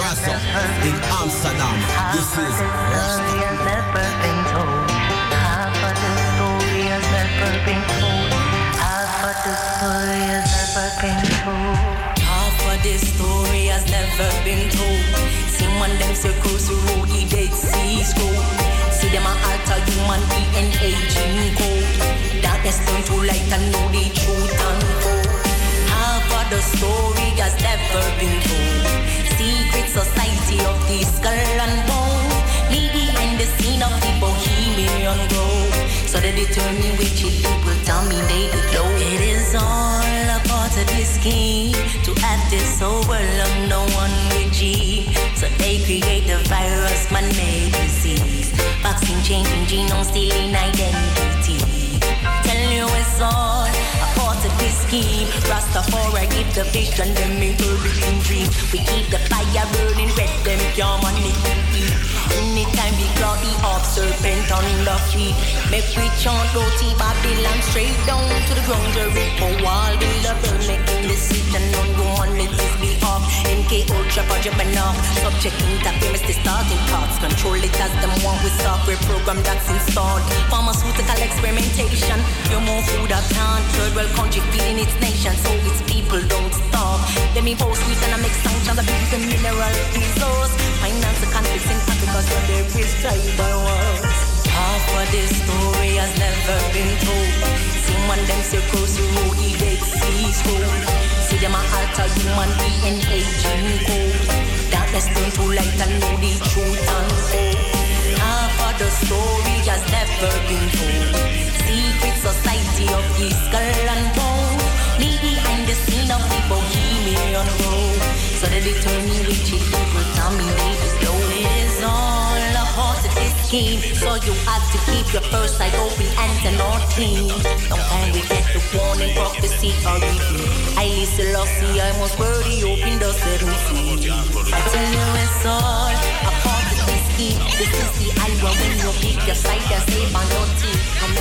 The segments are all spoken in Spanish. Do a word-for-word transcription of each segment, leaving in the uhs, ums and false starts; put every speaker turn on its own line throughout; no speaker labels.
Rasta in Amsterdam. This is Rasta.
Never been told. Half of the story has never been told. Half of the story has never been told.
Half of this story has never been told. See man them circles who road the Dead Sea Scroll. See them a alter human D N A gene code. Darkness turn to light and know the truth unfold. Half of the story has never been told. Secret society of the skull and bone. Me behind the scene of the Bohemian Grove. So they determine which people dominate the globe. It is all a part of this scheme to add this whole world of no one regime. So they create the virus, man-made disease. Vaccine changing genome, stealing identity. Tell you it's all a part of this scheme. Rastafari give the vision, them make everything dream. We keep the fire burning red, them can't manage to eat. Anytime we claw the off serpent on the feet. Make we chant roti Babylon straight down to the ground. Jericho wall, build a bird, making decision on humanity's behalf. M K Ultra for Gemini, subject interference, the starting parts. Control it as them want with software program that's installed. Pharmaceutical experimentation, you're more food at hand. Third world country feeding its nation, so its people don't starve. Them impose economic sanctions, abuse the mineral resource. Finance the conflicts in Africa, so there is tribal wars. Half of this story has never been told. See one them circles who road the Dead Sea Scroll. See them a alter human D N A gene code. Darkness turn to light and know the truth unfold. Half of the story has never been told. Secret society of the skull and bone. Me behind the scene of the Bohemian Grove. So they determine which people dominate the globe. It is all a part of this scheme. So you have to keep your first eye open and the north clean. Sometimes we get the warning, prophecy or reading. I listen, see, I must worry, open the seven seas. I tell you it's all a part of this scheme. This is the hour when you pick your side and save on your team.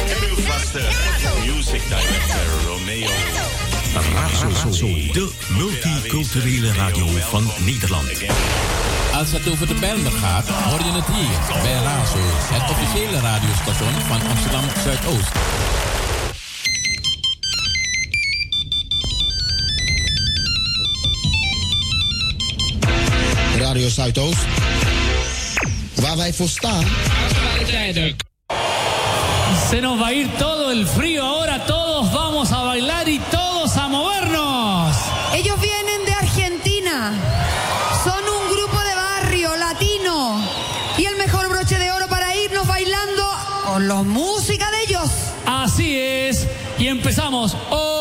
Music director Romeo.
Razo, de multiculturele radio van Nederland.
Als het over de Bijlmer gaat, hoor je het hier bij Razo, het officiële radiostation van Amsterdam Zuidoost.
Radio Zuidoost, waar wij voor staan.
Se nos va a ir todo el frío ahora, todos vamos a bailar y todos a movernos.
Ellos vienen de Argentina, son un grupo de barrio latino y el mejor broche de oro para irnos bailando con la música de ellos.
Así es, y empezamos. Oh.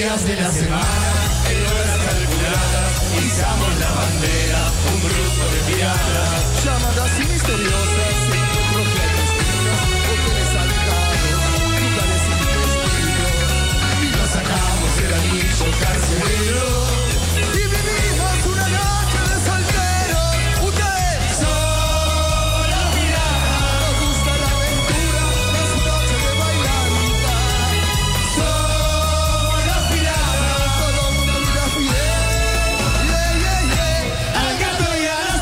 días de la semana, en horas calculadas, izamos la bandera, un grupo de piratas. Llamadas misteriosas, encuentros clandestinos, hoteles alejados, lugares intestinos. Y nos sacamos el anillo carcelero y vivimos una noche de soltero. Ustedes son los piratas, nos gusta la aventura, las noches de bailanta. Somos los piratas, todo el mundo mira Fidel. Yeah, yeah, yeah. Al gato y a las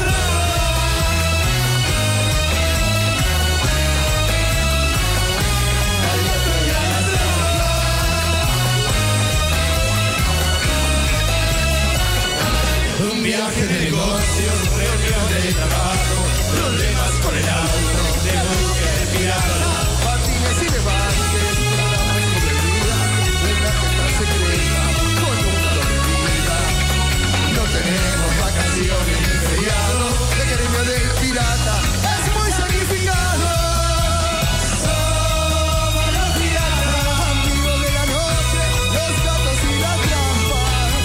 un viaje de negocios, reunión de trabajo, problemas con el auto, de búsqueda de pirata, patines y levantes, programas de bebida, una agenda secreta, con un doble vida. No tenemos vacaciones ni feriados, el gremio del pirata es muy sacrificado. Somos los piratas, amigos de la noche, los gatos y la trampa.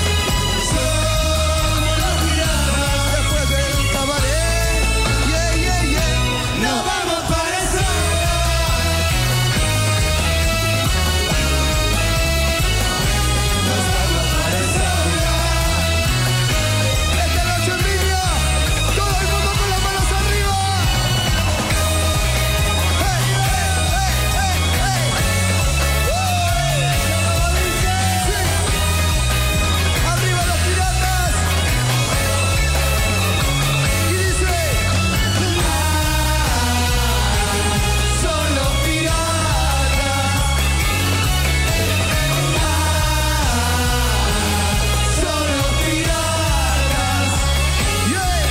Después del cabaret, yeah, yeah, yeah, nos vamos para el sol. Nos vamos para el sol. Esta noche en línea, todo el mundo con las manos arriba. Hey, hey, hey, hey, hey. Sí. Arriba los piratas. Y dice, son los piratas, son los piratas, yeah.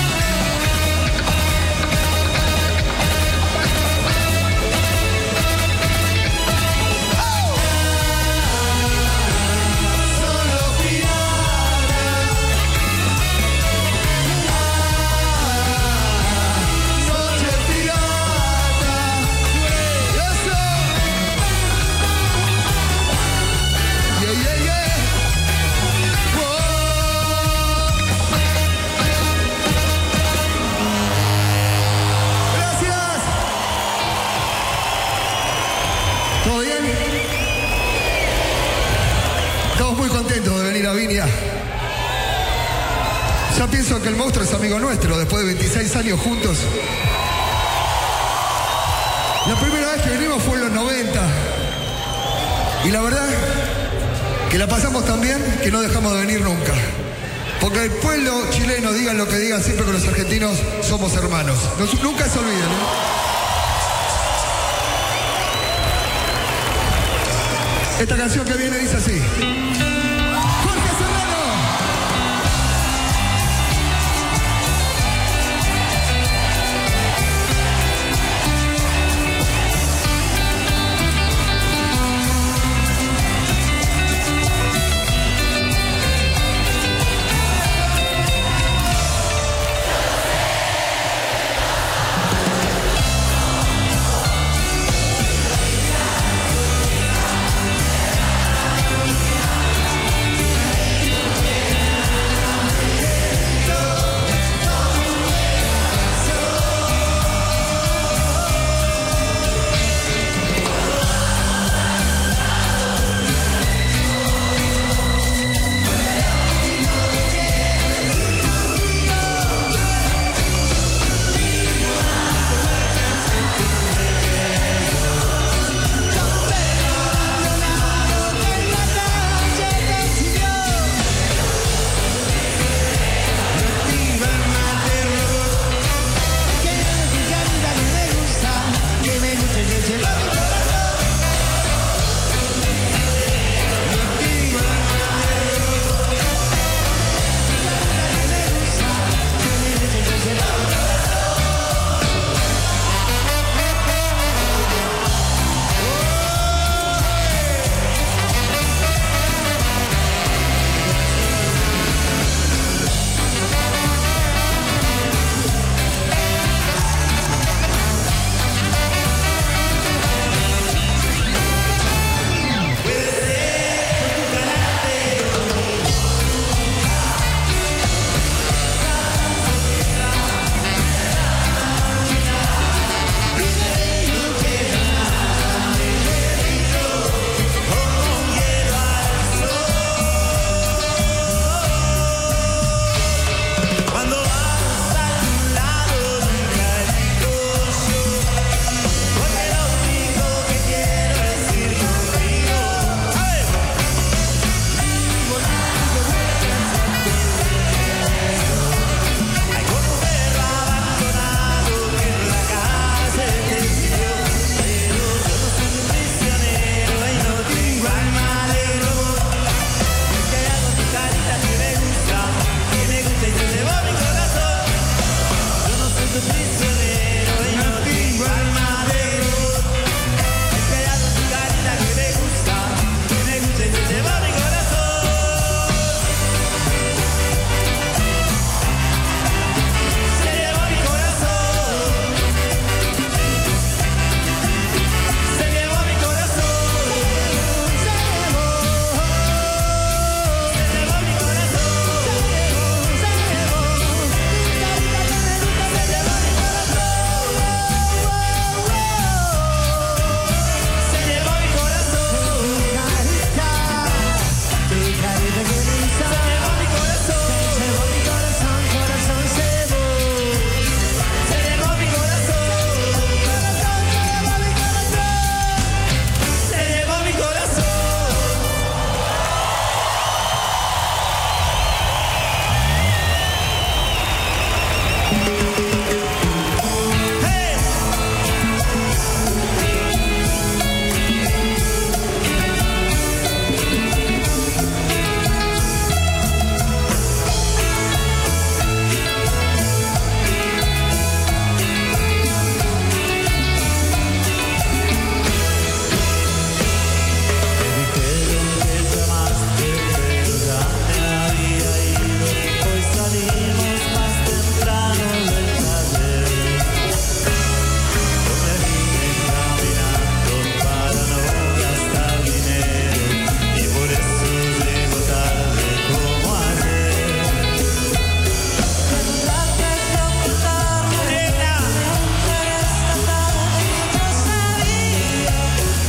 Oh. Son los piratas. Noche pirata, eso. Yeah, yeah, yeah. Whoa. Gracias. ¿Todo bien? Estamos muy contentos de venir a Viña. Ya pienso que el monstruo es amigo nuestro, después de veintiséis años juntos. La primera vez que venimos fue en los noventa. Y la verdad, que la pasamos tan bien que no dejamos de venir nunca. Porque el pueblo chileno, digan lo que digan, siempre con los argentinos somos hermanos. Nos- nunca se olviden, ¿no? Esta canción que viene dice así. Jorge Serrano.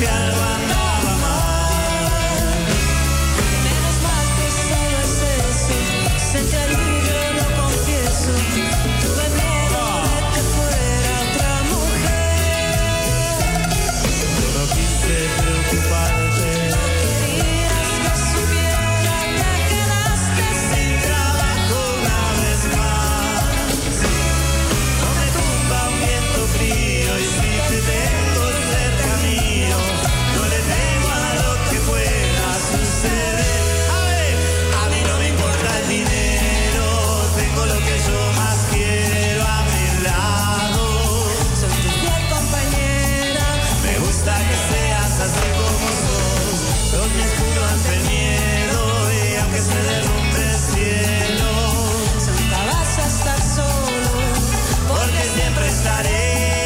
que algo andaba mal.
Menos mal que solo es eso, sentí alivio, lo confieso. Tuve miedo de que fuera otra mujer.
Yo no quise preocuparte.
Querías que supiera que quedaste sin trabajo una vez más.
No me tumba un viento frío y si te tengo cerca mío, no le temo a lo que pueda suceder. A ver, a mí no me importa el dinero, tengo lo que yo más quiero a mi lado.
Soy tu fiel compañera.
Me gusta que seas así como sos, sos mi escudo ante el miedo y aunque se derrumbe el cielo,
Nunca vas a estar solo,
porque siempre estaré.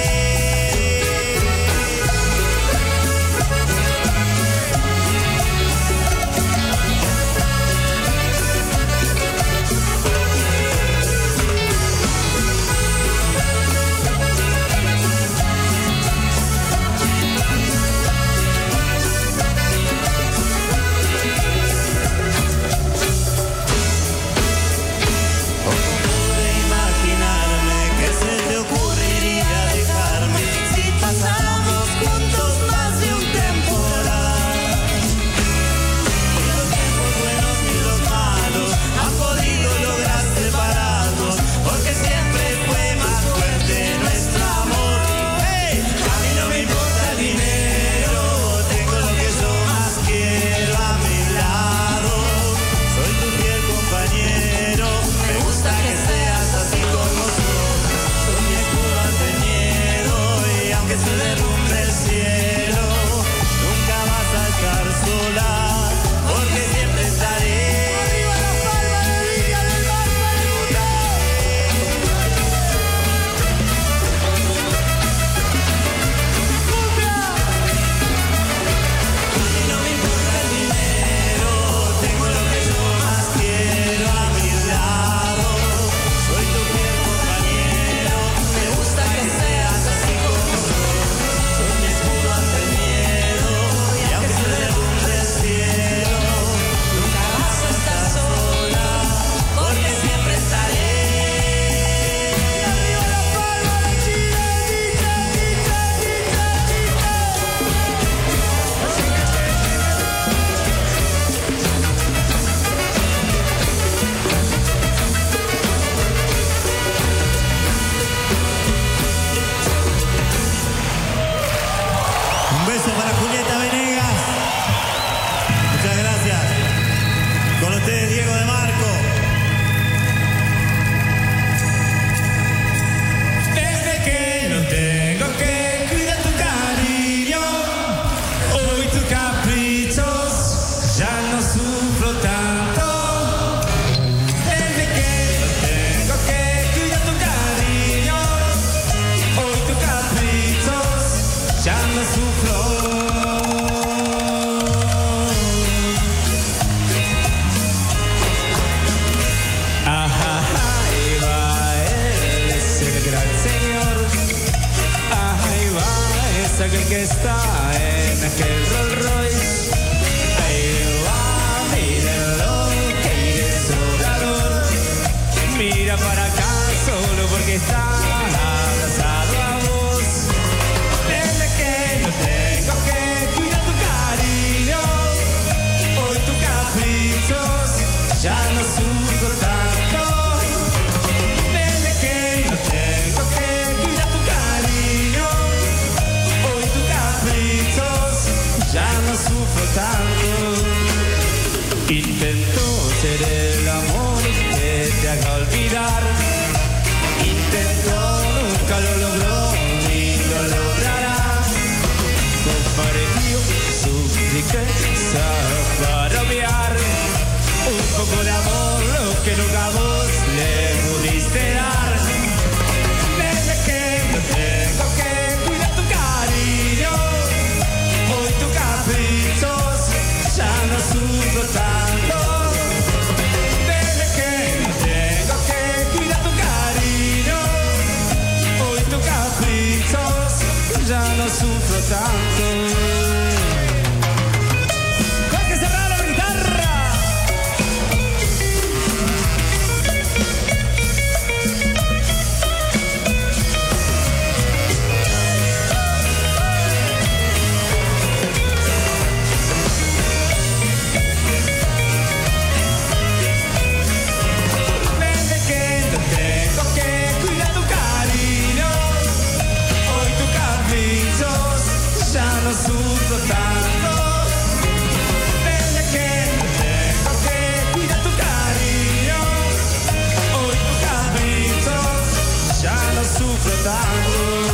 Pude imaginarme que se te ocurriría dejarme si pasáramos juntos más de un temporal. Ni los tiempos buenos ni los malos han podido lograr separarnos, porque siempre fue más fuerte nuestro amor. ¡Hey! A mí no me importa el dinero, tengo lo que yo más quiero a mi lado. Soy tu fiel compañero, me gusta que seas así como sos. Soy mi escudo ante el miedo y aunque se derrumbe el cielo, nunca vas a estar sola, porque siempre estaré. ¡Arriba la palma de Villa del Mar, A mí no me importa el dinero, tengo lo que yo más quiero a mi lado. Soy tu fiel compañero, me gusta que seas así como sos. Soy mi escudo ante el miedo y aunque se derrumbe el cielo, nunca vas a estar sola, porque siempre estaré. Y arriba la palma de Chile, chicha, chicha, chicha, chicha. Un beso para Julieta Venegas. Muchas gracias. Con ustedes Diego de Marco. Desde que no tengo que cuidar tu cariño, hoy tus caprichos ya no sufro tanto. Desde que no tengo que cuidar tu cariño, hoy tus caprichos ya no sufro. Ajá, ahí va él, es el gran señor. Ajá, ahí va, es aquel que está en aquel Rolls Royce. Ahí va, mírenlo, que iré sobrador. Mira para acá solo porque está abrazado a vos. Desde que no tengo que cuidar tu cariño, hoy tus caprichos ya no sufro tanto. Desde que no tengo que cuidar tu cariño, hoy tus caprichos ya no sufro tanto. Intento ser el amor que te haga olvidar. Intento, nunca lo logró ni lo logrará. Compartió su riqueza para obviar un poco de amor, lo que nunca vos le pudiste dar. Desde que no tengo que cuidar tu cariño, hoy tus caprichos ya no sufro tanto. Desde que no tengo que cuidar tu cariño, hoy tus caprichos ya no sufro tanto.
sufro tanto. Desde que no tengo que cuidar tu cariño, hoy tus caprichos ya no sufro tanto.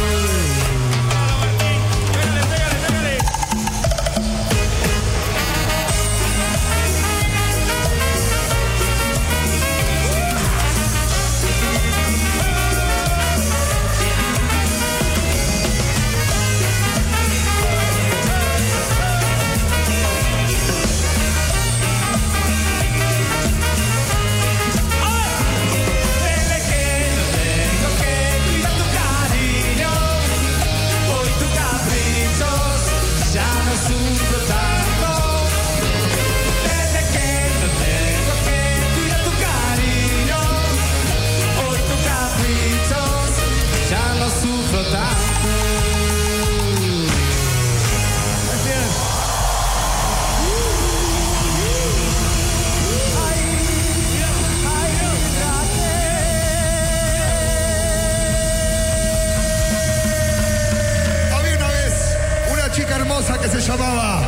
Que se llamaba.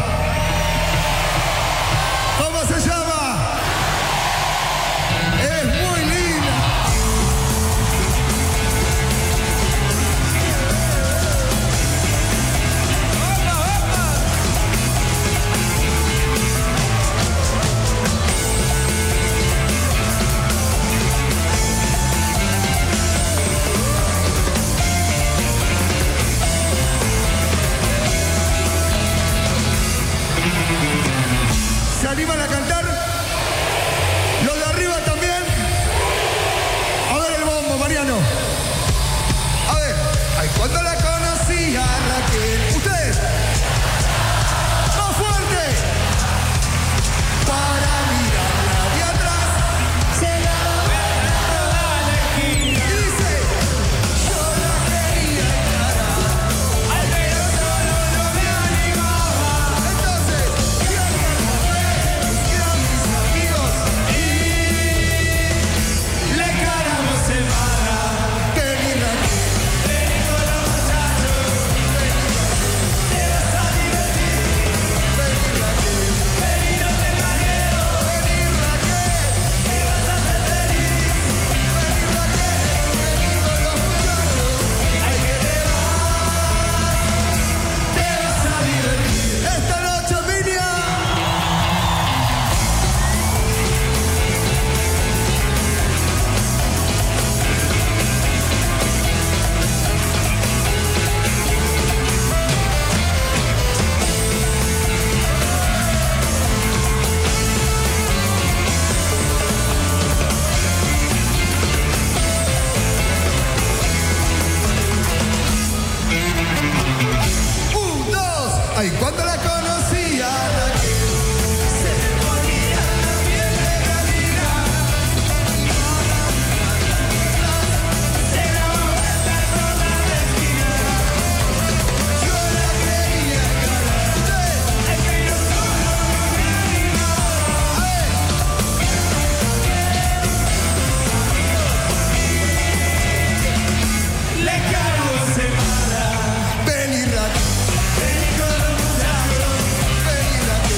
¿Cómo se llama? Es muy linda. ¿Se animan a cantar? ¿Los de arriba también? A ver el bombo, Mariano. A ver. Ay, cuando la conocí a Raquel. ¿Ustedes? ¡Más fuerte! Para mirarla de atrás. Se la ve y dice: yo la quería encarar. Ay, pero solo no me animaba. Entonces, le caramos semana. Vení Raquel, vení con los muchachos. Te vas a divertir. Vení Raquel, vení, no tengas miedo. Vení Raquel, te vas a hacer feliz. Vení Raquel, vení con los muchachos. Ay, que te vas, te vas a divertir. Esta noche, Emilia. Un, dos. Ay, cuando la conocí a Raquel, se me ponía la piel de gallina. Se la vuelta toda la esquina. Yo la quería encarar. Es que yo solo no me animaba. Le cargo semana. Vení Raquel, vení con los muchachos. Vení Raquel.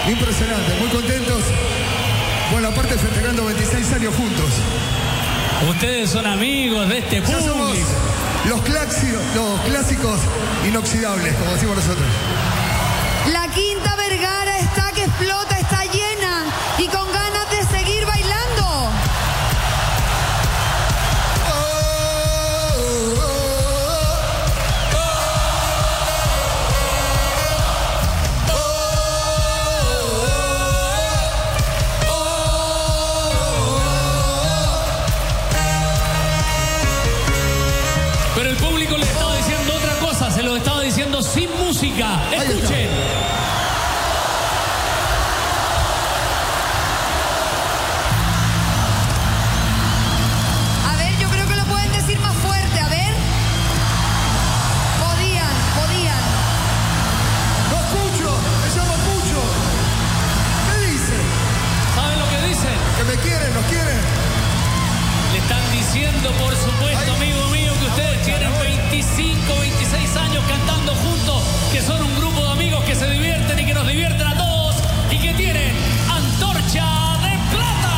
Impresionante, muy contentos. Bueno, aparte festejando veintiséis años juntos.
Ustedes son amigos de este
Ya somos
público.
los clásicos, los clásicos inoxidables, como decimos nosotros.
La Quinta Vergara está que explota, está llena y con ganas de seguir bailando.
Pero el público le estaba diciendo otra cosa, se lo estaba diciendo sin música. Escuchen.
A ver, yo creo que lo pueden decir más fuerte, a ver. Podían, podían.
¡No escucho! ¡Me llamo Pucho! ¿Qué dice?
¿Saben lo que dicen?
Que me quieren, nos quieren.
Le están diciendo, por supuesto, amigo mío, que ustedes tienen veinticinco, veintiséis años cantando juntos, que son un grupo de amigos que se divierten y que nos divierten a todos y que tienen antorcha de plata.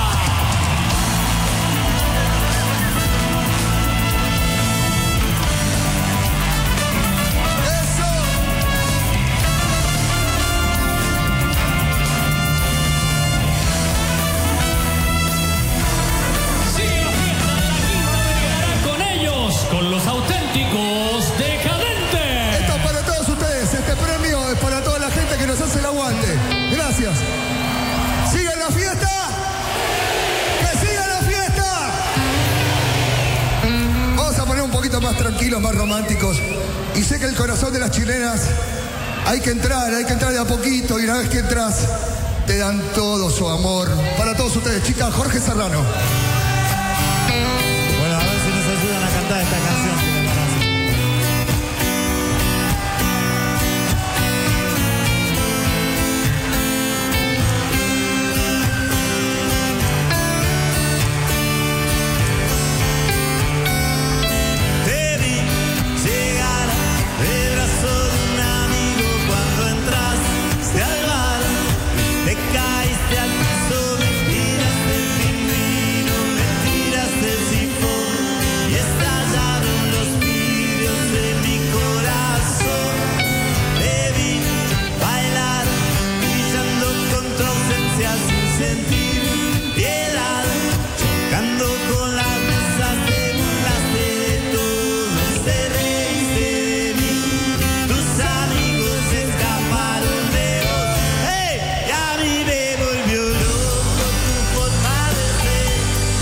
Sigue la fiesta de la Quinta Vergara con ellos, con los auténticos decadentes.
Esto es para todos ustedes. Este premio es para toda la gente que nos hace el aguante. Gracias. ¡Sigan la fiesta! ¡Que siga la fiesta! Vamos a poner un poquito más tranquilos, más románticos. Y sé que el corazón de las chilenas hay que entrar, hay que entrar de a poquito. Y una vez que entras, te dan todo su amor. Para todos ustedes, chicas, Jorge Serrano.
Bueno, a ver si nos ayudan a cantar esta canción. si les parece. Te vi llegar del brazo de un amigo cuando entraste al bar. Te caíste al piso, me tiraste el pingüino, me tiraste el sifón y estallaron los vidrios de mi corazón. Te vi bailar, brillando con tu ausencia sin sentir piedad, chocando con las mesas, te burlaste de todos, te reíste de mí. Tus amigos escaparon de vos. ¡Hey! Y a mí me volvió loco tu forma de ser.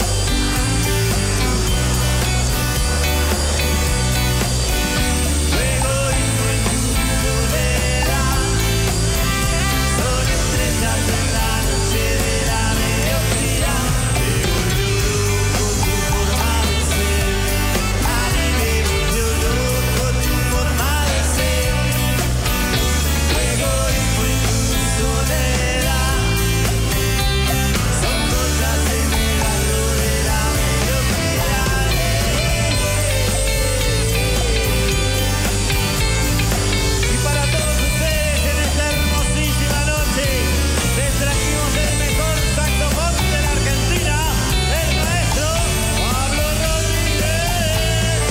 Tu egoísmo y tu soledad son estrellas en la noche de la mediocridad. Me volvió loco tu forma de ser. A mí me volvió loco tu forma de ser. Tu egoísmo y tu soledad son cosas en el barro de la mediocridad. Y para todos ustedes en esta hermosísima noche les trajimos el mejor saxofón de la Argentina, el maestro Pablo Rodríguez.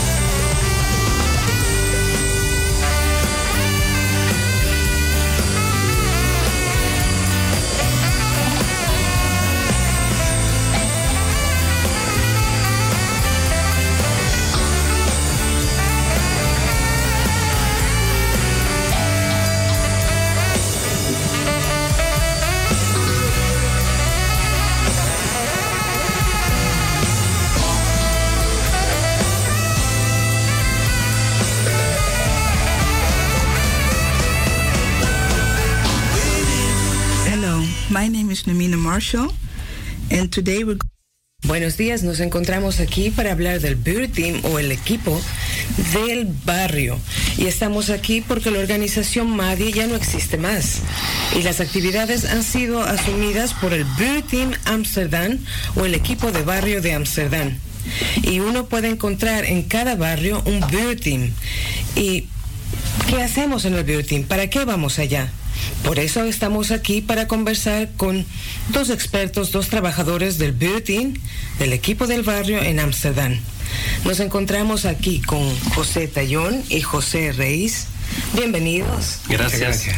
Hello, my name is Namina Marshall, and today we're
Buenos días, nos encontramos aquí para hablar del Beauty Team o el equipo del barrio. Y estamos aquí porque la organización MADI ya no existe más. Y las actividades han sido asumidas por el Beauty Team Amsterdam o el equipo de barrio de Amsterdam. Y uno puede encontrar en cada barrio un Beauty Team. ¿Y qué hacemos en el Beauty Team? ¿Para qué vamos allá? Por eso estamos aquí para conversar con dos expertos, dos trabajadores del Buurteam, del equipo del barrio en Ámsterdam. Nos encontramos aquí con José Tallón y José Reis. Bienvenidos.
Gracias. Gracias.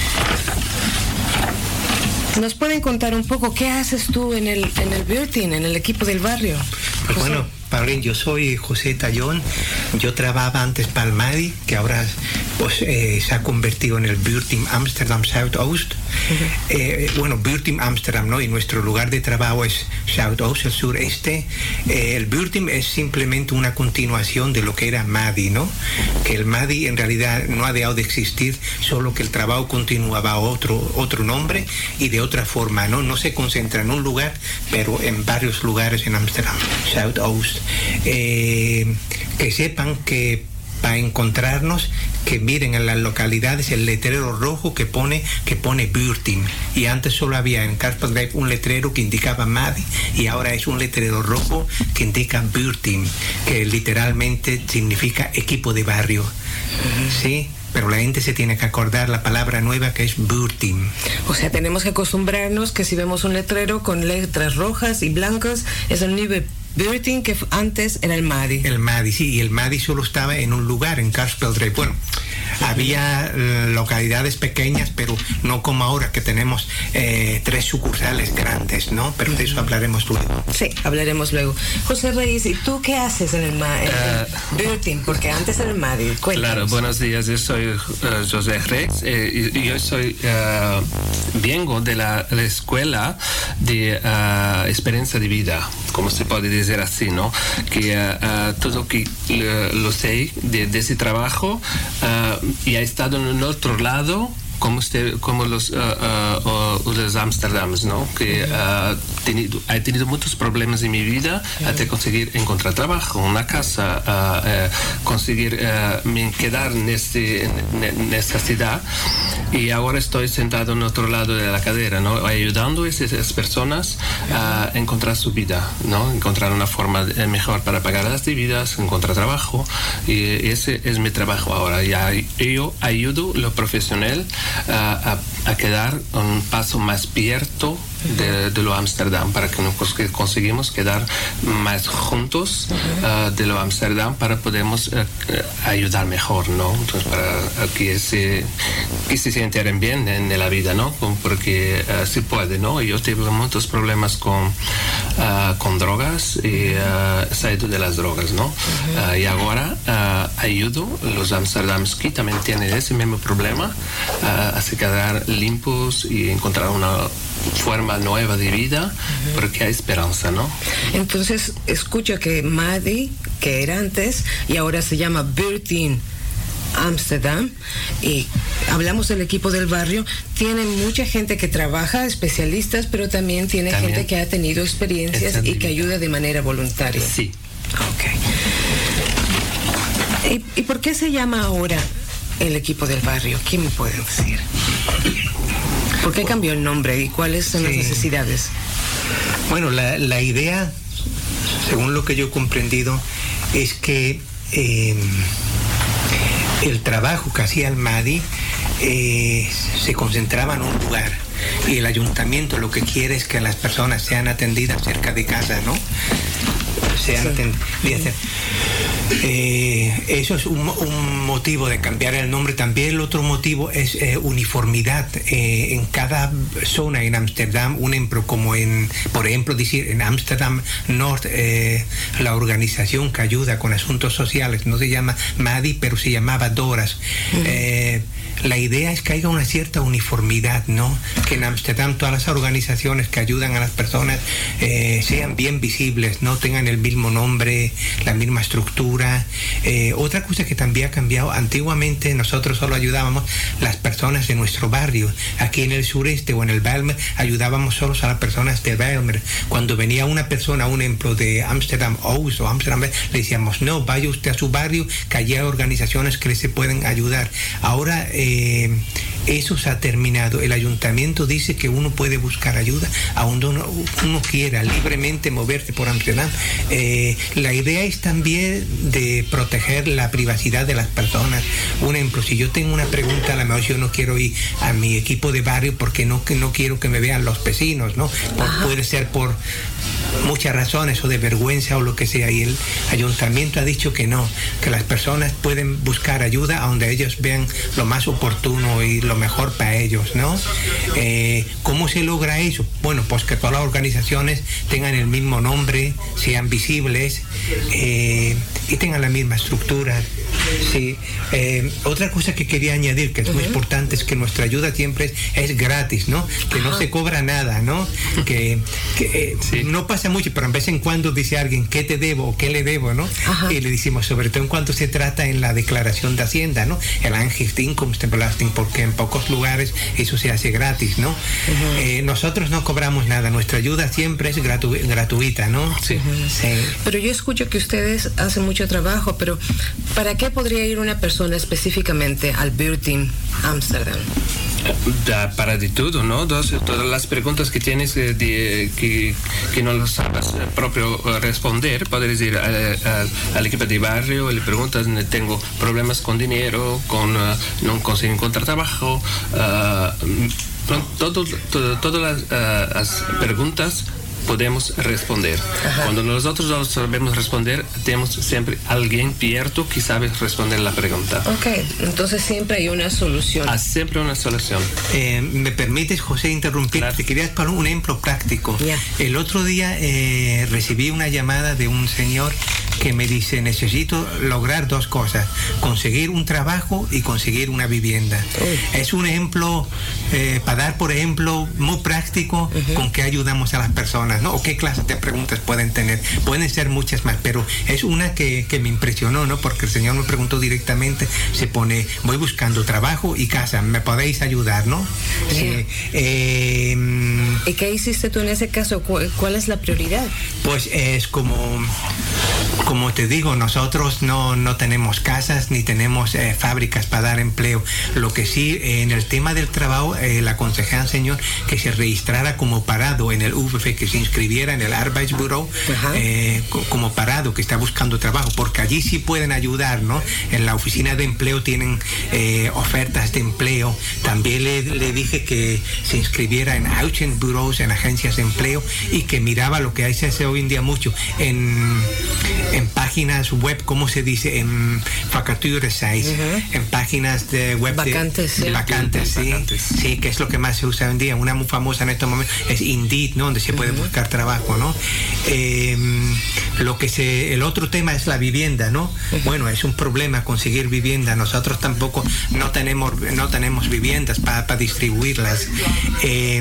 ¿Nos pueden contar un poco qué haces tú en el, en el Buurteam, en el equipo del barrio?
Pues bueno, Paulín, yo soy José Tallón. Yo trabajaba antes para el MADI, que ahora pues, eh, se ha convertido en el Buurteam Amsterdam Zuidoost. Uh-huh. eh, bueno, Buurteam Amsterdam, ¿no? Y nuestro lugar de trabajo es Zuidoost, el sureste. Eh, el Buurteam es simplemente una continuación de lo que era MADI, ¿no? Que el MADI en realidad no ha dejado de existir, solo que el trabajo continuaba a otro, otro nombre y de otra forma, ¿no? No se concentra en un lugar, pero en varios lugares en Amsterdam Zuidoost. Eh, que sepan que para encontrarnos, que miren en las localidades el letrero rojo que pone que pone Buurteam, y antes solo había en Karspelbreed un letrero que indicaba MADI y ahora es un letrero rojo que indica Buurteam, que literalmente significa equipo de barrio. Uh-huh. ¿Sí? Pero la gente se tiene que acordar la palabra nueva que es Buurteam.
O sea, tenemos que acostumbrarnos que si vemos un letrero con letras rojas y blancas, es el nuevo Buurteam, que antes era el MADI.
El MADI, sí, y el MADI solo estaba en un lugar, en Karspelbreed. Bueno, había eh, localidades pequeñas, pero no como ahora que tenemos eh, tres sucursales grandes, ¿no? Pero de eso hablaremos luego.
Sí, hablaremos luego. José Reyes, ¿y tú qué haces en el, Ma- en el uh, Buurteam? Porque antes era el MADI. Cuéntanos.
Claro, buenos días, yo soy uh, José Reyes eh, y, y yo soy, uh, vengo de la, la escuela de uh, experiencia de vida, como se puede decir así, ¿no? Que uh, uh, todo que uh, lo sé de, de ese trabajo uh, y ha estado en el otro lado como usted, como los uh, uh, uh, los Amsterdams, ¿no? Que uh, tenido, he tenido muchos problemas en mi vida hasta conseguir encontrar trabajo, una casa, uh, uh, conseguir uh, quedar en, este, en, en esta ciudad, y ahora estoy sentado en otro lado de la cadera, ¿no? Ayudando a esas personas a encontrar su vida, ¿no? Encontrar una forma mejor para pagar las deudas, encontrar trabajo, y ese es mi trabajo ahora. Y yo ayudo a lo profesional a, a, a quedar un paso más abierto de, de lo Amsterdam, para que nos conseguimos quedar más juntos uh, de lo Amsterdam, para podemos uh, ayudar mejor, ¿no? Entonces, para que se, que se sientan bien en la vida, ¿no? Porque uh, se puede, ¿no? Yo tuve muchos problemas con, uh, con drogas y uh, salí de las drogas, ¿no? Uh, y ahora uh, ayudo a los Amsterdams que también tienen ese mismo problema uh, a se quedar limpios y encontrar una forma nueva de vida, uh-huh. Porque hay esperanza, ¿no?
Entonces, escucha que MADI, que era antes, y ahora se llama Buurteam Amsterdam, y hablamos del equipo del barrio, tiene mucha gente que trabaja, especialistas, pero también tiene también gente que ha tenido experiencias y que ayuda de manera voluntaria.
Sí.
Ok. ¿Y, ¿Y por qué se llama ahora el equipo del barrio? ¿Quién me puede decir? ¿Por qué cambió el nombre y cuáles son sí. las necesidades?
Bueno, la, la idea, según lo que yo he comprendido, es que eh, el trabajo que hacía el MADI eh, se concentraba en un lugar, y el ayuntamiento lo que quiere es que las personas sean atendidas cerca de casa, ¿no? Sean sí. atendidas. Eh, eso es un, un motivo de cambiar el nombre. También el otro motivo es eh, uniformidad eh, en cada zona en Ámsterdam. Un ejemplo, como en, por ejemplo, decir en Ámsterdam Norte, eh, la organización que ayuda con asuntos sociales no se llama MADI, pero se llamaba DORAS. Uh-huh. Eh, la idea es que haya una cierta uniformidad, ¿no? Que en Ámsterdam todas las organizaciones que ayudan a las personas eh, sean bien visibles, no tengan el mismo nombre, la misma estructura. Eh, otra cosa que también ha cambiado, antiguamente nosotros solo ayudábamos las personas de nuestro barrio. Aquí en el sureste o en el Bijlmer ayudábamos solo a las personas de Bijlmer. Cuando venía una persona, un ejemplo de Amsterdam Oost o Amsterdam, le decíamos, no, vaya usted a su barrio, que allí hay organizaciones que le se pueden ayudar. Ahora eh, eso se ha terminado. El ayuntamiento dice que uno puede buscar ayuda a donde uno, uno quiera, libremente moverse por Amsterdam. Eh, la idea es también de proteger la privacidad de las personas. Un ejemplo, si yo tengo una pregunta, a lo mejor yo no quiero ir a mi equipo de barrio porque no, que no quiero que me vean los vecinos, ¿no? Por, puede ser por muchas razones o de vergüenza o lo que sea, y el ayuntamiento ha dicho que no, que las personas pueden buscar ayuda a donde ellos vean lo más oportuno y lo mejor para ellos, ¿no? Eh, ¿Cómo se logra eso? Bueno, pues que todas las organizaciones tengan el mismo nombre, sean visibles eh, y tengan la misma estructura. Sí. Eh, otra cosa que quería añadir, que es muy uh-huh. importante, es que nuestra ayuda siempre es, es gratis, ¿no? Que uh-huh. no se cobra nada, ¿no? Que, que eh, sí. no pasa mucho, pero en vez en cuando dice alguien ¿qué te debo o qué le debo?, ¿no? Uh-huh. Y le decimos, sobre todo en cuanto se trata en la declaración de Hacienda, ¿no? El Aangifte Inkomstenbelasting, porque en pocos lugares eso se hace gratis, ¿no? Uh-huh. Eh, nosotros no cobramos nada, nuestra ayuda siempre es gratu- gratuita, ¿no?
Sí. Uh-huh. Sí. Pero yo escucho que ustedes hacen mucho trabajo, pero ¿para qué podría ir una persona específicamente al Buurteam Amsterdam?
Da, para de todo, ¿no? Dos, todas las preguntas que tienes eh, de, que, que no lo sabes eh, propio eh, responder, puedes ir a, a, al equipo de barrio y le preguntas, tengo problemas con dinero, con uh, no consigo encontrar trabajo, uh, todo, todo, todas las, uh, las preguntas podemos responder. Ajá. Cuando nosotros no sabemos responder, tenemos siempre alguien abierto que sabe responder la pregunta.
Ok, entonces siempre hay una solución.
Ah, siempre una solución.
Eh, ¿Me permites, José, interrumpir? Claro. Te quería poner un ejemplo práctico. Yeah. El otro día eh, recibí una llamada de un señor que me dice, necesito lograr dos cosas, conseguir un trabajo y conseguir una vivienda. Uh. Es un ejemplo, eh, para dar por ejemplo, muy práctico, uh-huh. con que ayudamos a las personas, ¿no? O qué clases de preguntas pueden tener. Pueden ser muchas más, pero es una que, que me impresionó, ¿no? Porque el señor me preguntó directamente, se pone, voy buscando trabajo y casa, ¿me podéis ayudar, no?
Yeah. Sí, eh, ¿Y qué hiciste tú en ese caso? ¿Cuál, cuál es la prioridad?
Pues es como... Como te digo, nosotros no, no tenemos casas ni tenemos eh, fábricas para dar empleo. Lo que sí, eh, en el tema del trabajo, eh, le aconsejé al señor que se registrara como parado en el U V F, que se inscribiera en el Arbeidsbureau eh, como parado, que está buscando trabajo, porque allí sí pueden ayudar, ¿no? En la oficina de empleo tienen eh, ofertas de empleo. También le, le dije que se inscribiera en Uitzendbureaus, en agencias de empleo, y que miraba lo que se hace hoy en día mucho en... en páginas web, ¿cómo se dice? En vacatures, uh-huh. en páginas de web
vacantes,
de,
sí.
vacantes, sí. vacantes, sí, que es lo que más se usa hoy en día. Una muy famosa en estos momentos es Indeed, ¿no? Donde se puede uh-huh. buscar trabajo, ¿no? Eh, lo que se, el otro tema es la vivienda, ¿no? Uh-huh. Bueno, es un problema conseguir vivienda. Nosotros tampoco no tenemos, no tenemos viviendas para pa distribuirlas. Eh,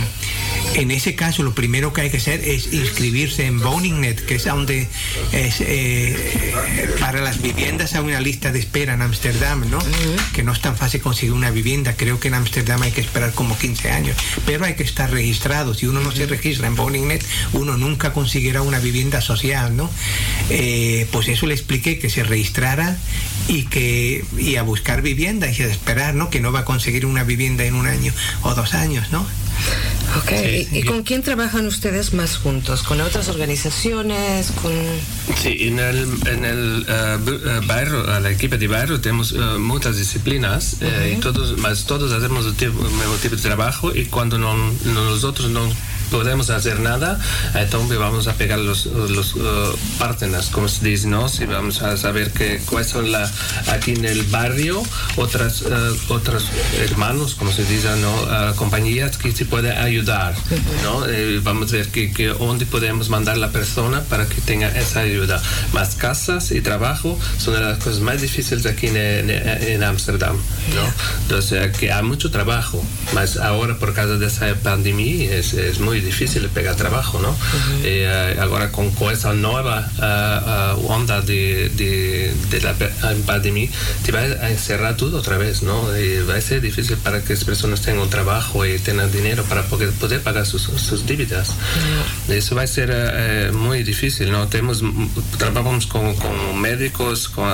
en ese caso, lo primero que hay que hacer es inscribirse en Woningnet, que es donde es, eh, para las viviendas hay una lista de espera en Amsterdam, ¿no? Uh-huh. Que no es tan fácil conseguir una vivienda. Creo que en Amsterdam hay que esperar como quince años, pero hay que estar registrado. Si uno no uh-huh. se registra en Woningnet, uno nunca conseguirá una vivienda social, ¿no? Eh, pues eso le expliqué, que se registrara y que y a buscar vivienda y a esperar, ¿no? Que no va a conseguir una vivienda en un año o dos años, ¿no?
Ok, sí, ¿y, y con quién trabajan ustedes más juntos? ¿Con otras organizaciones? ¿Con...?
Sí, en el, en el uh, barrio, la equipo de barrio tenemos uh, muchas disciplinas uh-huh. eh, y todos, más todos hacemos el, tipo, el mismo tipo de trabajo, y cuando no, no, nosotros no podemos hacer nada, entonces vamos a pegar los, los uh, partners, como se dice, ¿no? Si vamos a saber que, cuáles son la, aquí en el barrio otras uh, otros hermanos, como se dice, ¿no? Uh, compañías que se pueden ayudar, ¿no? Eh, vamos a ver que, que dónde podemos mandar la persona para que tenga esa ayuda. Más casas y trabajo son de las cosas más difíciles aquí en Amsterdam, ¿no? Entonces, que hay mucho trabajo, más ahora por causa de esa pandemia es, es muy difícil pegar trabajo, ¿no? Uh-huh. eh, ahora con, con esa nueva uh, uh, onda de, de, de la pandemia, te va a encerrar todo otra vez, ¿no? Y va a ser difícil para que las personas tengan un trabajo y tengan dinero para poder, poder pagar sus, sus dívidas. Uh-huh. Eso va a ser uh, muy difícil, ¿no? Tenemos, trabajamos con, con médicos, con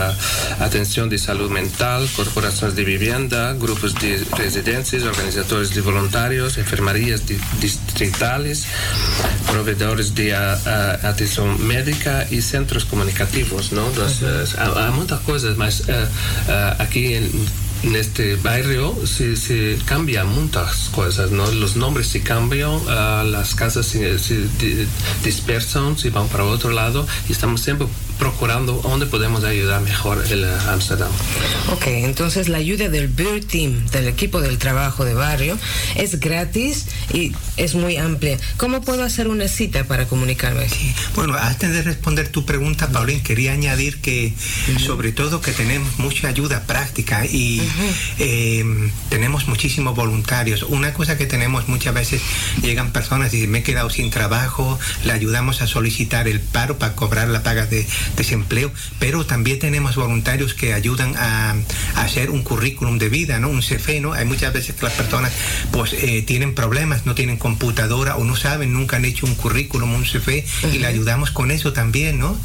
uh, atención de salud mental, corporaciones de vivienda, grupos de residencias, organizadores de voluntarios, enfermerías de, distritales, proveedores de uh, uh, atención médica y centros comunicativos, ¿no? Los, uh, hay muchas cosas, mas uh, uh, aquí en En este barrio se, se cambian muchas cosas, ¿no? Los nombres se cambian, uh, las casas se, se dispersan, se van para otro lado y estamos siempre procurando dónde podemos ayudar mejor el Amsterdam.
Ok, entonces la ayuda del Buurt Team, del equipo del trabajo de barrio, es gratis y es muy amplia. ¿Cómo puedo hacer una cita para comunicarme?
Sí. Bueno, antes de responder tu pregunta, Paulín, quería añadir que uh-huh. sobre todo que tenemos mucha ayuda práctica y uh-huh. eh, tenemos muchísimos voluntarios. Una cosa que tenemos muchas veces, llegan personas y dicen, me he quedado sin trabajo, le ayudamos a solicitar el paro para cobrar la paga de desempleo, pero también tenemos voluntarios que ayudan a, a hacer un currículum de vida, ¿no? Un C V, ¿no? Hay muchas veces que las personas pues eh, tienen problemas, no tienen computadora o no saben, nunca han hecho un currículum, un C V, uh-huh. y le ayudamos con eso también, ¿no?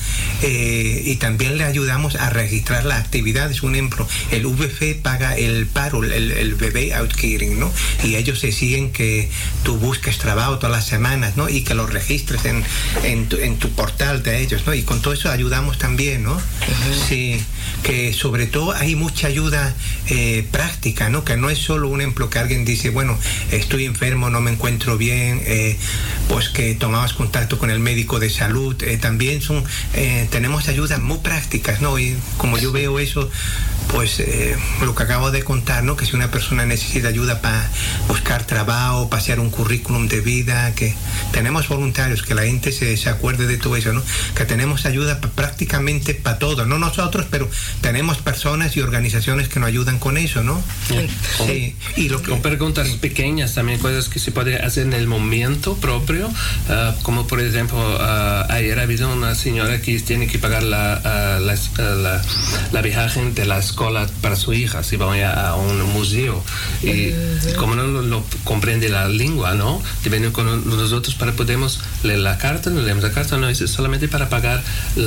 Eh, y también le ayudamos a registrar las actividades. Un ejemplo, el V F paga el paro, el, el bebé outkering, ¿no? Y ellos se siguen que tú busques trabajo todas las semanas, ¿no? Y que lo registres en, en, tu, en tu portal de ellos, ¿no? Y con todo eso ayudamos también, ¿no? Uh-huh. Sí, que sobre todo hay mucha ayuda eh, práctica, ¿no? Que no es solo un ejemplo que alguien dice, bueno, estoy enfermo, no me encuentro bien, eh, pues que tomamos contacto con el médico de salud. Eh, también son, eh, tenemos ayudas muy prácticas, ¿no? Y como yo veo eso, pues eh, lo que acabo de contar, ¿no? Que si una persona necesita ayuda para buscar trabajo, para hacer un currículum de vida, que tenemos voluntarios, que la gente se, se acuerde de todo eso, ¿no? Que tenemos ayuda pa, prácticamente para todo, no nosotros, pero tenemos personas y organizaciones que nos ayudan con eso, ¿no?
Sí.
Sí. Y lo que,
con preguntas sí. pequeñas también, cosas que se puede hacer en el momento propio, uh, como por ejemplo, uh, ayer ha habido una señora que tiene que pagar la, uh, la, uh, la, la viaje de la escuela para su hija, si van a, a un museo, y uh-huh. como no lo, lo comprende la lengua, ¿no? De venir con nosotros para podemos leer la carta, no leemos la carta, no, es solamente para pagar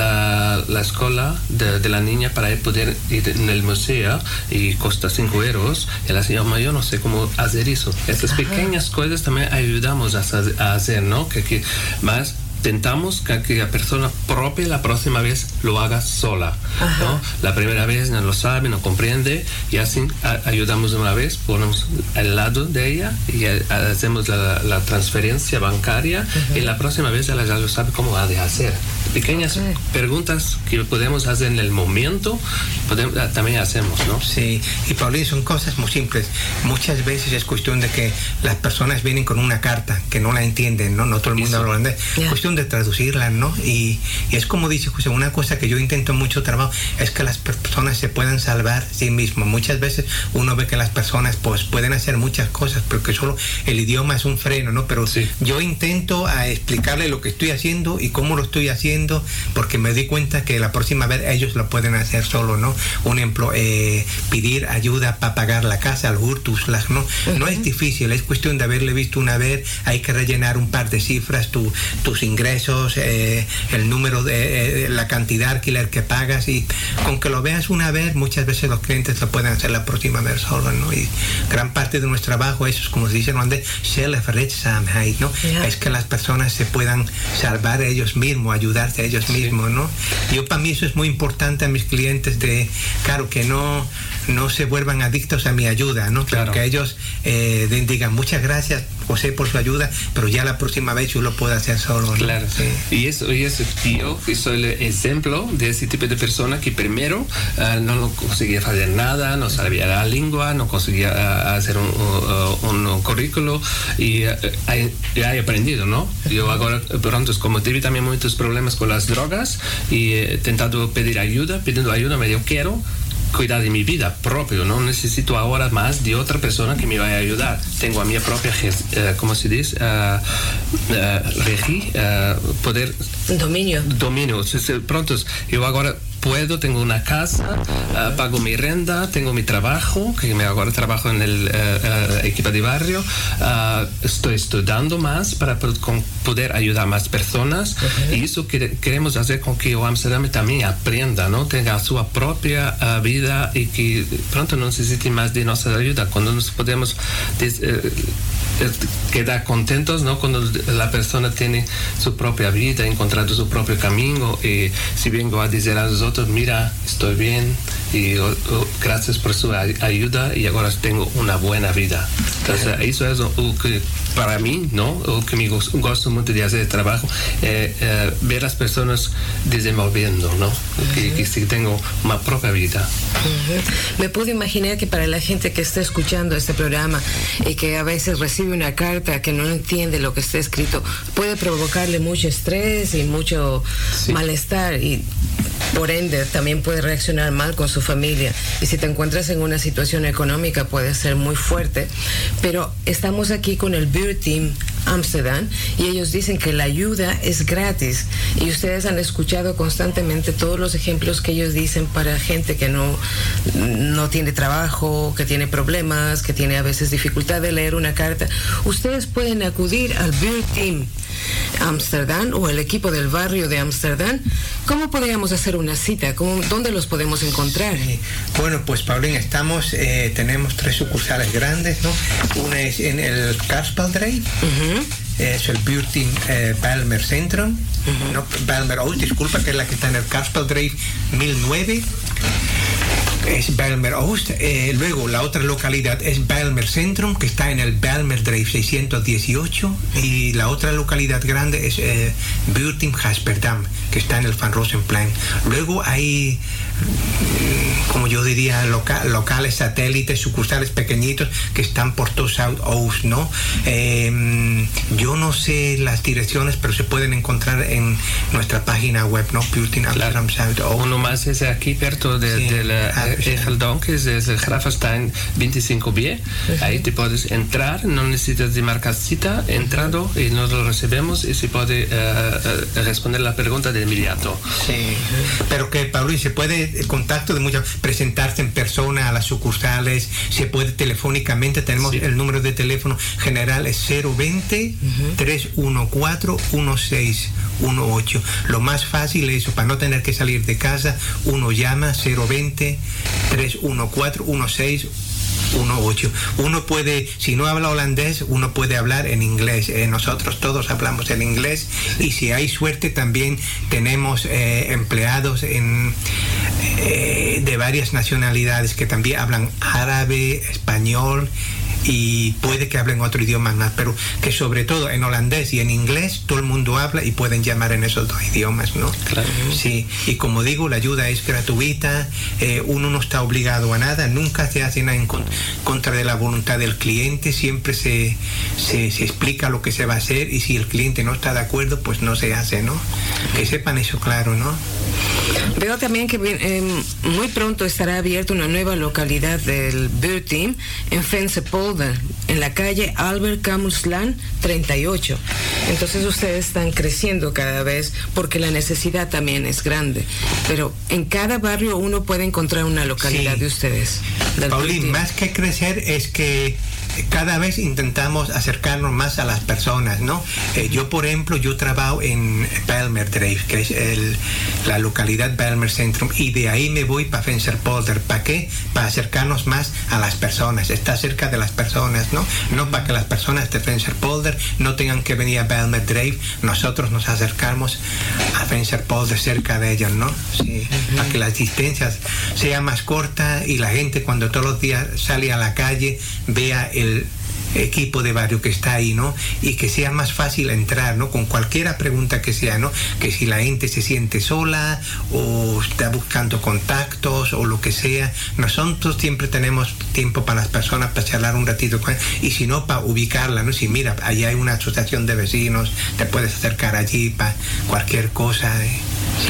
la, la escuela de, de la niña para poder ir en el museo y cuesta cinco euros, y la señora mayor no sé cómo hacer eso. Estas pequeñas cosas también ayudamos a, a hacer, ¿no? Que, que más intentamos que, que la persona propia la próxima vez lo haga sola, ¿no? La primera vez no lo sabe, no comprende, y así a, ayudamos una vez, ponemos al lado de ella y a, a, hacemos la, la transferencia bancaria, uh-huh. y la próxima vez ella ya lo sabe cómo ha de hacer. Pequeñas uh-huh. preguntas que podemos hacer en el momento, podemos, también hacemos, ¿no?
Sí, y Paulín, son cosas muy simples. Muchas veces es cuestión de que las personas vienen con una carta que no la entienden, ¿no? No todo el mundo habla holandés. Yeah. Cuestión de traducirla, ¿no? Y, y es como dice José, una cosa que yo intento mucho trabajo es que las personas se puedan salvar sí mismos. Muchas veces uno ve que las personas pues pueden hacer muchas cosas, porque solo el idioma es un freno, ¿no? Pero sí. yo intento a explicarle lo que estoy haciendo y cómo lo estoy haciendo, porque me di cuenta que la próxima vez ellos lo pueden hacer solo, ¿no? Un ejemplo, eh, pedir ayuda para pagar la casa, el Hurtuslag, ¿no? Uh-huh. No es difícil, es cuestión de haberle visto una vez, hay que rellenar un par de cifras, tu, tus ingresos, Eh, el número de eh, la cantidad de alquiler que pagas, y con que lo veas una vez, muchas veces los clientes lo pueden hacer la próxima vez solo, ¿no? Y gran parte de nuestro trabajo es, como se dice en holandés, zelfredzaamheid, ¿no? Yeah. Es que las personas se puedan salvar ellos mismos, ayudarse a ellos sí. mismos, ¿no? Yo, para mí eso es muy importante a mis clientes, de claro, que no no se vuelvan adictos a mi ayuda, ¿no? Claro. Que ellos eh, digan muchas gracias, José, por su ayuda, pero ya la próxima vez yo lo puedo hacer solo, ¿no?
Claro. Sí. Y eso, y eso yo que soy el ejemplo de ese tipo de persona que primero uh, no conseguía hacer nada, no sabía la lengua, no conseguía uh, hacer un, uh, un currículo, y uh, he, he aprendido, ¿no? Yo ahora pronto, como tuve también muchos problemas con las drogas y he intentado pedir ayuda, pidiendo ayuda, me digo quiero, cuidar de mi vida propio, no necesito ahora más de otra persona que me vaya a ayudar. Tengo a mi propia, uh, ¿cómo se dice? Uh, uh, regi, uh, poder...
Dominio.
Dominio. Pronto, yo ahora puedo, tengo una casa, uh, pago mi renta, tengo mi trabajo, que me ahora trabajo en el uh, uh, equipo de barrio, uh, estoy estudiando más para con, poder ayudar a más personas, uh-huh. Y eso que queremos hacer con que Amsterdam también aprenda, ¿no? Tenga su propia uh, vida y que pronto no necesite más de nuestra ayuda. Cuando nos podemos des, uh, quedar contentos, ¿no? Cuando la persona tiene su propia vida, encontrando su propio camino, y si vengo a decir a nosotros, mira, estoy bien y oh, oh, gracias por su ay- ayuda y ahora tengo una buena vida. Entonces, eso es lo que para mí, ¿no? O que me gozo, gozo mucho de hacer el trabajo, eh, eh, ver las personas desenvolviendo, ¿no? Uh-huh. Que, que sí tengo una propia vida.
Uh-huh. Me puedo imaginar que para la gente que está escuchando este programa y que a veces recibe una carta que no entiende lo que está escrito, puede provocarle mucho estrés y mucho sí. malestar, y por ende también puede reaccionar mal con su familia, y si te encuentras en una situación económica puede ser muy fuerte. Pero estamos aquí con el Beer Team Amsterdam y ellos dicen que la ayuda es gratis, y ustedes han escuchado constantemente todos los ejemplos que ellos dicen para gente que no, no tiene trabajo, que tiene problemas, que tiene a veces dificultad de leer una carta. Ustedes pueden acudir al Beer Team Amsterdam o el equipo del barrio de Amsterdam. ¿Cómo podríamos hacer una cita? ¿Cómo, ¿Dónde los podemos encontrar?
Sí. Bueno, pues Paulín, estamos, eh, tenemos tres sucursales grandes, ¿no? Una es en el Karspeldrave, uh-huh. es el Beer Team eh, Bijlmer Centrum, uh-huh. no, Bijlmer Oost, disculpa, que es la que está en el Karspeldrave mil nueve. Es Bijlmer Oost. Eh, luego la otra localidad es Bijlmer Centrum, que está en el Bijlmerdrave seiscientos dieciocho, y la otra localidad grande es eh, Beer Team Gasperdam, que está en el Van Rosenplein. Luego hay, como yo diría, loca, locales satélites, sucursales pequeñitos que están por todo South Oost, ¿no? Eh, yo no sé las direcciones, pero se pueden encontrar en nuestra página web, ¿no? Beer Team Amsterdam South Oost.
Uno más es aquí, perto de, sí. de la ah, Egeldonk, es el Gravenstein veinticinco B. Uh-huh. Ahí te puedes entrar, no necesitas de marcar cita, entrando y nos lo recibimos y se puede uh, uh, responder la pregunta de inmediato.
Sí, pero que Pablo, se puede contacto de muchas, presentarse en persona a las sucursales, se puede telefónicamente, tenemos sí. el número de teléfono general es cero veinte, uh-huh. tres uno cuatro, uno seis uno ocho. Lo más fácil es eso, para no tener que salir de casa, uno llama cero veinte, tres uno cuatro, uno seis uno ocho. Uno puede, si no habla holandés, uno puede hablar en inglés. Eh, nosotros todos hablamos en inglés, y si hay suerte también tenemos eh, empleados en, eh, de varias nacionalidades que también hablan árabe, español, y puede que hablen otro idioma más, pero que sobre todo en holandés y en inglés todo el mundo habla y pueden llamar en esos dos idiomas, ¿no?
Claro.
Sí, y como digo, la ayuda es gratuita, eh, uno no está obligado a nada, nunca se hace nada en contra de la voluntad del cliente, siempre se, se, se explica lo que se va a hacer, y si el cliente no está de acuerdo, pues no se hace, ¿no? Que sepan eso claro, ¿no?
Veo también que eh, muy pronto estará abierta una nueva localidad del Beer Team en Venspolder, en la calle Albert Camuslan treinta y ocho. Entonces ustedes están creciendo cada vez porque la necesidad también es grande. Pero en cada barrio uno puede encontrar una localidad sí. de ustedes.
Paulín, más que crecer es que cada vez intentamos acercarnos más a las personas, ¿no? Eh, yo, por ejemplo, yo trabajo en Bijlmerdrave, que es el, la localidad Bijlmer Centrum, y de ahí me voy para Venspolder. ¿Para qué? Para acercarnos más a las personas, estar cerca de las personas, ¿no? No para que las personas de Venspolder no tengan que venir a Bijlmerdrave, nosotros nos acercamos a Venspolder, cerca de ellas, ¿no? Sí, uh-huh. Para que las distancias sean más cortas y la gente cuando todos los días sale a la calle vea el equipo de barrio que está ahí, ¿no? Y que sea más fácil entrar, ¿no? Con cualquier pregunta que sea, ¿no? Que si la gente se siente sola o está buscando contactos o lo que sea, nosotros siempre tenemos tiempo para las personas para charlar un ratito con, y si no, para ubicarla, ¿no? Si mira, allá hay una asociación de vecinos, te puedes acercar allí para cualquier cosa, ¿eh? Sí.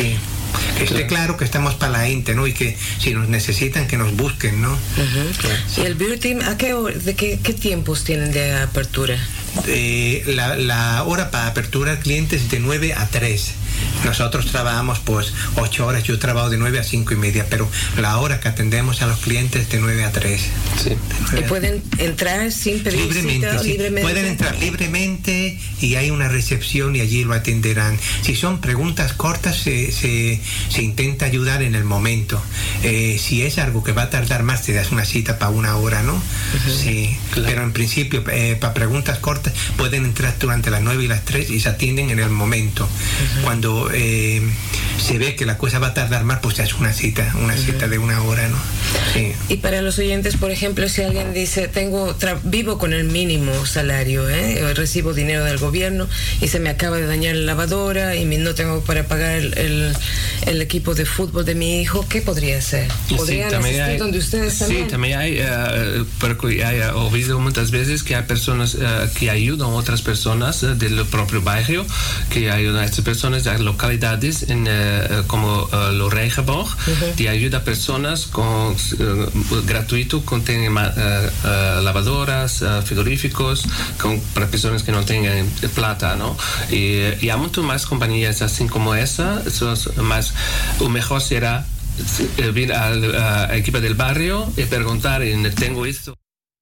Que esté claro que estamos para la gente, ¿no? Y que si nos necesitan, que nos busquen, ¿no?
Uh-huh. ¿Y el Beer Team, a qué, hor- de qué, qué tiempos tienen de apertura?
Eh, la, la hora para apertura al cliente es de nueve a tres. Nosotros trabajamos pues ocho horas, yo trabajo de nueve a cinco y media, pero la hora que atendemos a los clientes es de nueve a tres.
Sí.
¿Y pueden entrar sin pedir
Libremente,
cita?
sí.
Libremente.
Pueden entrar libremente y hay una recepción y allí lo atenderán. Si son preguntas cortas, se, se, se intenta ayudar en el momento. Eh, si es algo que va a tardar más, te das una cita para una hora, ¿no? Uh-huh. Sí, claro. Pero en principio, eh, para preguntas cortas, pueden entrar durante las nueve y las tres y se atienden en el momento. Uh-huh. Cuando eh, se ve que la cosa va a tardar más, pues ya es una cita, una uh-huh. cita de una hora, ¿no? Sí.
Y para los oyentes, por ejemplo, si alguien dice, tengo tra- vivo con el mínimo salario, ¿eh? recibo dinero del gobierno y se me acaba de dañar la lavadora y no tengo para pagar el, el, el equipo de fútbol de mi hijo, ¿qué podría hacer? ¿Podrían
sí,
asistir
hay,
donde ustedes también?
Sí, también hay, uh, porque hay uh, oído muchas veces que hay personas uh, que ayudan a otras personas uh, del propio barrio, que ayudan a estas personas de localidades en, uh, como uh, Loregeborg, uh-huh. que ayuda a personas con uh, gratuito, con tienen, uh, uh, lavadoras, uh, frigoríficos, con, para personas que no tengan plata, ¿no? Y, y hay muchas más compañías así como esa, eso es más, o mejor será ir al equipo del barrio y preguntar, tengo esto.